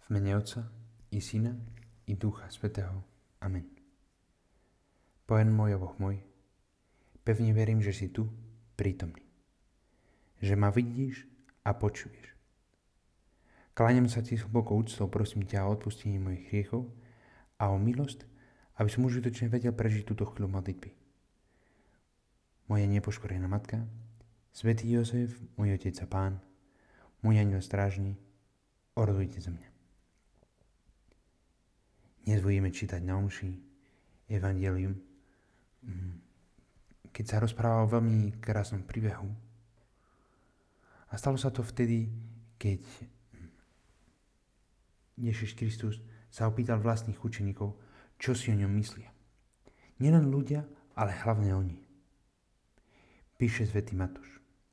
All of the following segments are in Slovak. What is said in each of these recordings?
V mene Otca i Syna i Ducha Svätého. Amen. Pojem môj, Boh môj, pevne verím, že si tu, prítomný. Že ma vidíš a počuješ. Kláňam sa ti s hlbokou úctou, prosím ťa o odpustenie mojich hriechov a o milosť, aby som užitočne vedel prežiť túto chvíľu modlitby. Moja nepoškorená matka, svätý Jozef, môj otec a pán, môj anjel strážny, orodujte za mňa. Dnes budeme čítať na omši Evangelium, keď sa rozpráva o veľmi krásnom príbehu. A stalo sa to vtedy, keď Ježiš Kristus sa opýtal vlastných učeníkov, čo si o ňom myslia. Nielen ľudia, ale hlavne oni. Píše svätý Matúš.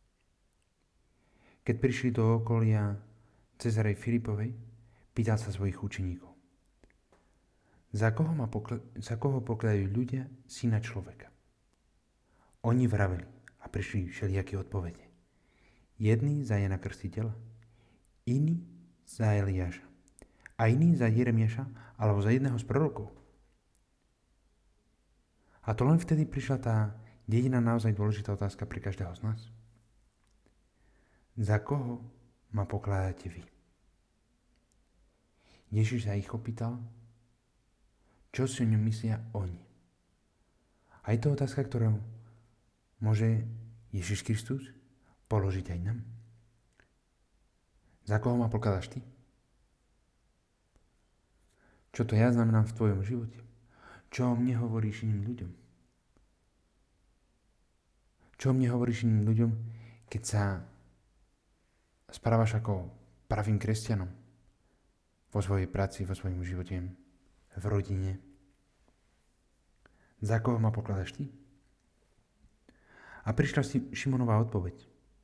Keď prišli do okolia Cezarej Filipovej, pýtal sa svojich učeníkov: Za koho pokladajú ľudia syna človeka? Oni vraveli a prišli všelijaké odpovede. Jedni za Jana Krstiteľa, iní za Eliáša a iní za Jeremiáša alebo za jedného z prorokov. A to len vtedy prišla tá jediná naozaj dôležitá otázka pre každého z nás. Za koho ma pokladáte vy? Ježiš sa ich opýtal, čo si o ňom myslia oni. A je to otázka, ktorú môže Ježiš Kristus položiť aj nám. Za koho ma pokladáš ty? Čo to ja znamenám v tvojom živote? Čo o mne hovoríš iným ľuďom? Čo o mne hovoríš iným ľuďom, keď sa správaš ako pravým kresťanom vo svojej práci, vo svojom živote, v rodine? Za koho ma pokladáš ty? A prišla Šimonová odpoveď.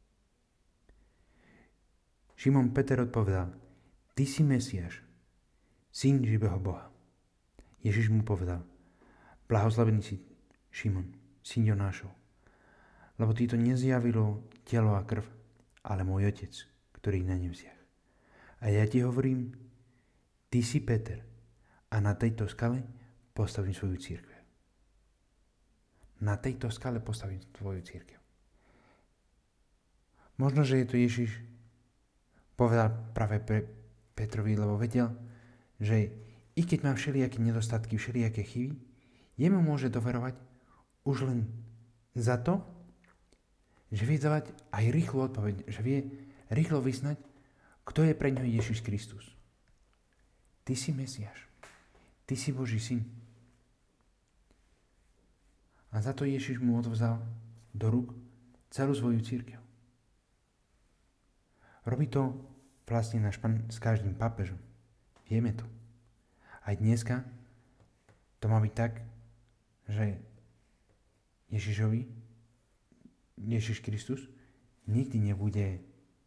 Šimon Peter odpovedal: Ty si Mesiáš, syn živého Boha. Ježiš mu povedal: Blahoslavený si, Šimon, syn Jonášov, lebo ti to nezjavilo telo a krv, ale môj Otec, ktorý na nebesiach. A ja ti hovorím, ty si Peter, a na tejto skale postavím svoju cirkev. Na tejto skale postavím svoju cirkev. Možno, že je to Ježiš povedal práve pre Petrovi, lebo vedel, že i keď má všelijaké nedostatky, všelijaké chyby, jemu môže doverovať už len za to, že vie dávať aj rýchlu odpoveď, že vie rýchlo vyznať, kto je pre ňo Ježiš Kristus. Ty si Mesiáš. Ty si Boží syn. A za to Ježiš mu odvzal do rúk celú svoju cirkev. Robí to vlastne náš Pán s každým pápežom. Vieme to. Aj dneska to má byť tak, že Ježiš Kristus nikdy nebude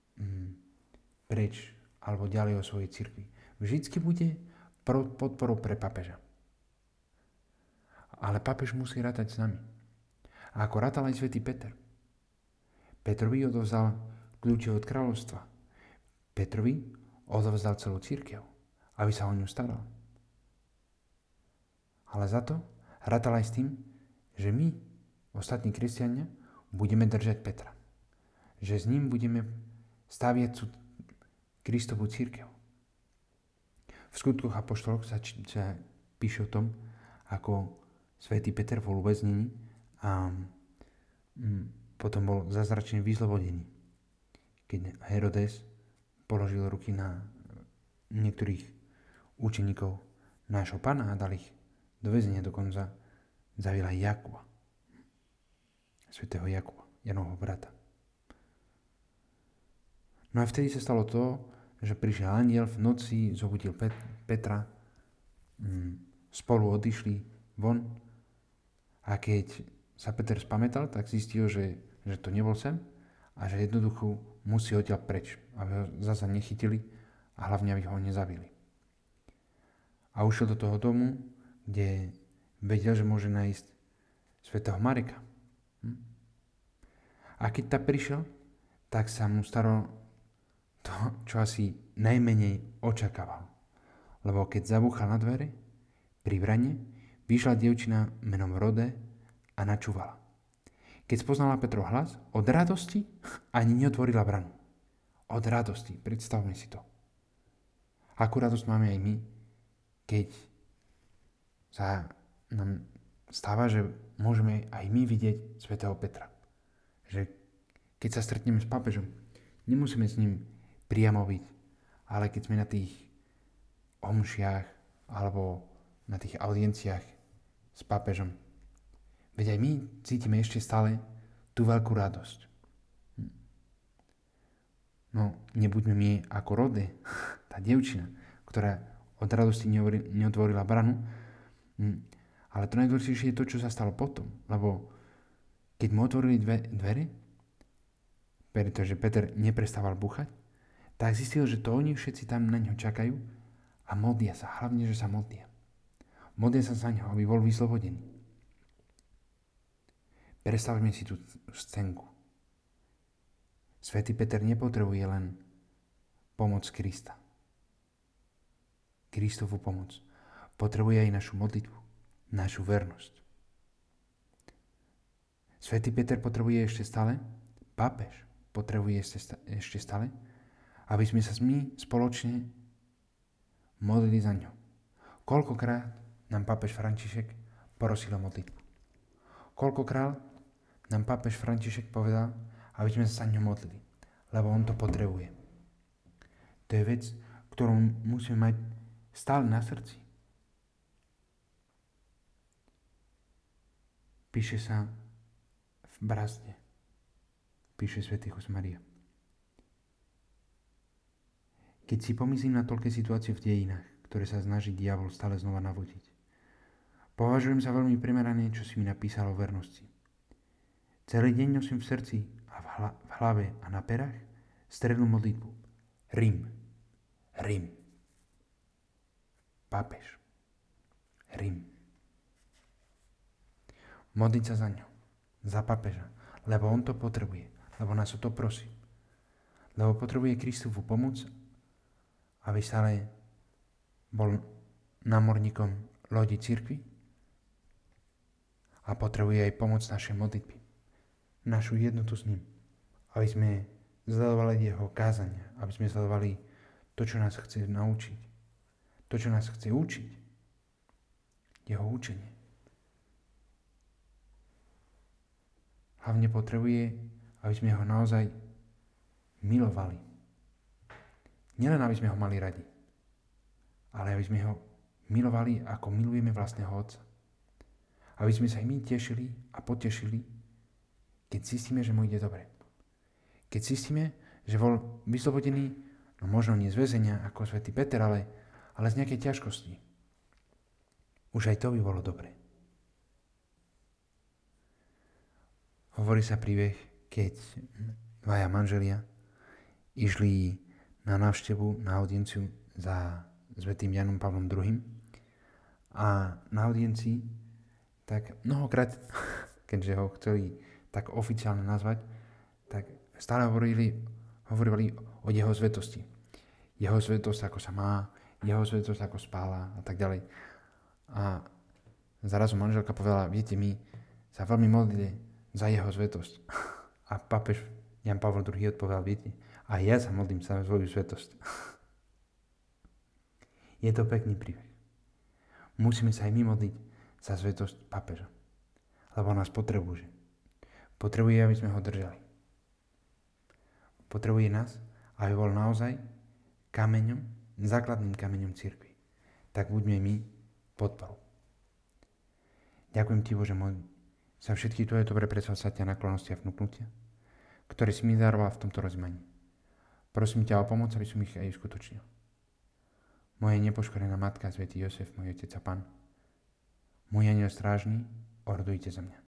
preč alebo ďalej o svojej cirkvi. Vždycky bude podporou pre pápeža. Ale pápež musí rátať s nami. A ako rátal aj svätý Peter. Petrovi odovzdal kľúče od kráľovstva. Petrovi odovzdal celú cirkev, aby sa o ňu staral. Ale za to rátal aj s tým, že my, ostatní kresťania, budeme držať Petra. Že s ním budeme staviať Kristovú cirkev. V skutkoch apoštolov sa píše o tom, ako svätý Peter bol uväznený a potom bol zázračne vyzlobodený. Keď Herodes položil ruky na niektorých učeníkov nášho Pána a dal ich do väzenia, dokonca zavil aj Jakuba, svätého Jakuba, Janovho brata. No a vtedy sa stalo to, že prišiel anjel v noci, zobudil Petra, spolu odišli von a keď sa Peter spamätal, tak zistil, že to nebol sen a že jednoducho musí odtiaľ preč, aby ho zasa nechytili a hlavne aby ho nezabili. A ušiel do toho domu, kde vedel, že môže nájsť svätého Mareka. A keď tam prišiel, tak sa mu stalo to, čo asi najmenej očakával. lebo keď zabúchal na dvere, pri brane, vyšla dievčina menom Rode a načúvala. Keď spoznala Petrov hlas, od radosti ani neotvorila branu. Od radosti, predstavme si to. Akú radosť máme aj my, keď sa nám stáva, že môžeme aj my vidieť svätého Petra. Že keď sa stretneme s pápežom, nemusíme s ním priamo byť, ale keď sme na tých omšiach alebo na tých audienciách s pápežom, veď aj my cítime ešte stále tú veľkú radosť. No, nebuďme my ako Rode, tá dievčina, ktorá od radosti neotvorila branu, ale to najdôležitejšie je to, čo sa stalo potom, lebo keď mu otvorili dvere, pretože Peter neprestával búchať, tak zistil, že to oni všetci tam na ňo čakajú a modlia sa, hlavne, že sa modlia. Modlia sa za ňo, aby bol vyslobodený. Predstavme si tú scénku. Svätý Peter nepotrebuje len pomoc Krista. Kristovu pomoc. Potrebuje aj našu modlitbu, našu vernosť. Svätý Peter potrebuje ešte stále, pápež potrebuje ešte stále, aby sme sa my spoločne modlili za ňo. Koľkokrát nám pápež František prosil o modlitbu. Koľkokrát nám pápež František povedal, aby sme sa za ňo modlili, lebo on to potrebuje. To je vec, ktorú musíme mať stále na srdci. Píše sa v Brazde. Píše svätý Josemaria. Keď si pomyslím na toľké situácie v dejinách, ktoré sa snaží diabol stále znova navodiť, považujem za veľmi primerané, čo si mi napísal o vernosti. Celý deň nosím v srdci a v hlave a na perách strednú modlitbu. Rím. Rím. Pápež. Rím. Modliť sa za ňo. Za pápeža. Lebo on to potrebuje. Lebo nás o to prosí. Lebo potrebuje Kristovu pomoc, aby stále bol námorníkom lodi cirkvi a potrebuje aj pomoc našej modlitby. Našu jednotu s ním. Aby sme sledovali jeho kázania. Aby sme sledovali to, čo nás chce naučiť. To, čo nás chce učiť. Jeho učenie. Hlavne potrebuje, aby sme ho naozaj milovali. Nielen, aby sme ho mali radi, ale aby sme ho milovali, ako milujeme vlastného Otca. Aby sme sa aj my tešili a potešili, keď zistíme, že mu ide dobre. Keď zistíme, že bol vyslobodený, no možno nie z väzenia ako svätý Peter, ale z nejakej ťažkosti. Už aj to by bolo dobre. Hovorí sa príbeh, keď dvaja manželia išli na návštevu, na audienciu za svätým Jánom Pavlom II. A na audiencii tak mnohokrát, keďže ho chceli tak oficiálne nazvať, tak stále hovorili o jeho svetosti. Jeho svetosť, ako sa má, jeho svetosť, ako spála a tak ďalej. A zrazu manželka povedala, viete, my sa veľmi modlili za jeho svetosť. A pápež Ján Pavol II odpovedal, viete, a ja sa modlím za svoju svetosť. Je to pekný príbeh. Musíme sa aj my modliť za svetosť pápeža. Lebo nás potrebuje. Potrebuje, aby sme ho držali. Potrebuje nás, aby bol naozaj kameňom, základným kameňom cirkvi. Tak buďme my podporou. Ďakujem ti, Bože môj, za všetky tvoje dobré predsavzatia, naklonosti a vnúknutia, ktoré si mi daroval v tomto rozmaní. Prosím ťa o pomoc, aby som ich aj uskutočnil. Moja nepoškorená matka, svätý Jozef, môj otec a Pán, môj anjel strážny, ordujte za mňa.